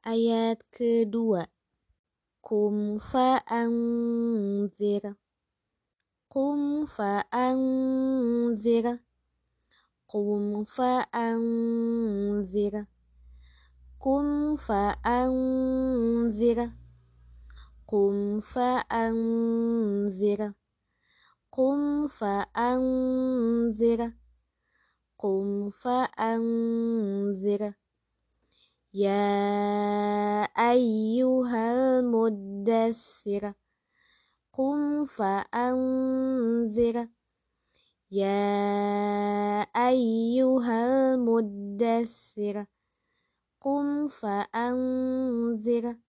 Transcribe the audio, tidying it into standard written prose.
Ayat kedua. Qum fa'anzir. Qum fa'anzir. Qum fa'anzir. Qum fa'anzir. Qum fa'anzir. Qum fa'anzir. Qum fa'anzir. Ya ayyuhal muddassir. Qum fa'anzir. Ya ayyuhal muddassir. Qum fa'anzir.